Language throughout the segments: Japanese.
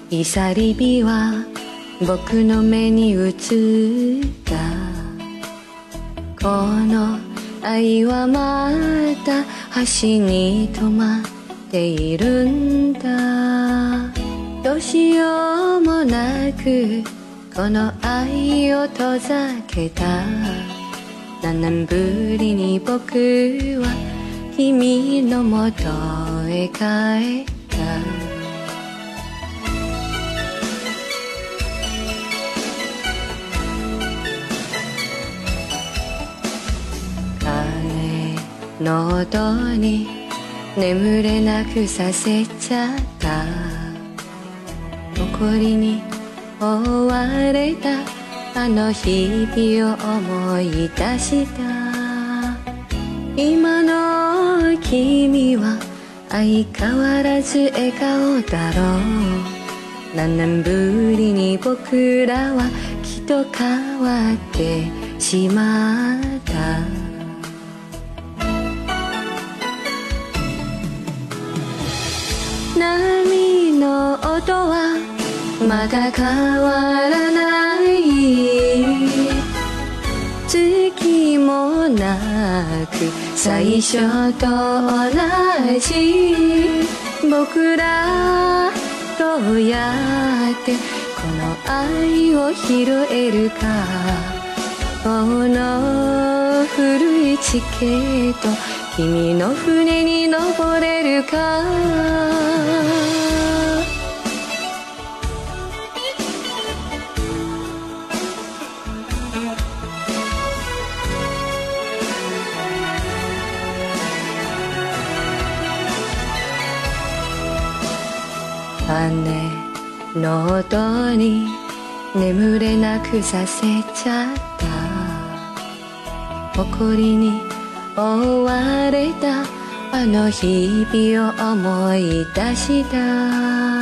いさり火は僕の目に映った。この愛はまた橋に止まっているんだ。どうしようもなくこの愛を遠ざけた。何年ぶりに僕は君のもとへ帰った。彼の音に眠れなくさせちゃった。誇りに追われたあの日々を思い出した。今の君は相変わらず笑顔だろう。何年ぶりに僕らはきっと変わってしまった。波の音はまだ変わらない。月もなく最初と同じ。僕らどうやってこの愛を拾えるか。この古いチケット君の船に登れるか。雨の音に眠れなくさせちゃった。誇りに追われたあの日々を思い出した。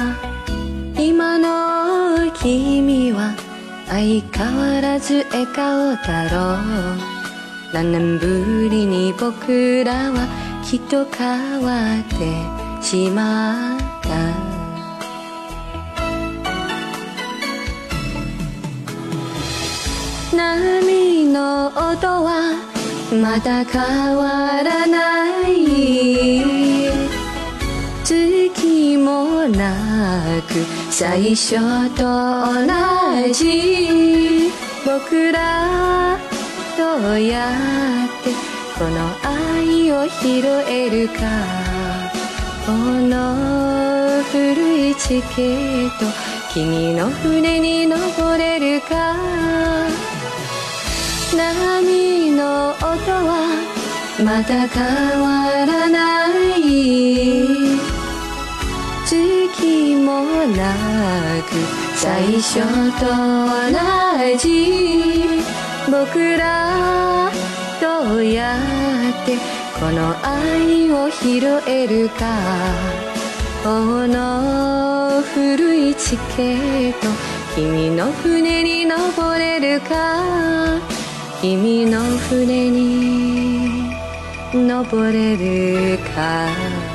今の君は相変わらず笑顔だろう。何年ぶりに僕らはきっと変わってしまった。波の音はまだ変わらない。月もなく最初と同じ。僕らどうやってこの愛を拾えるか。この古いチケット君の船に登れるか。波の音はまだ変わらない。月もなく最初と同じ。僕らどうやってこの愛を拾えるか。この古いチケット君の船に登れるか。君の船に登れるか。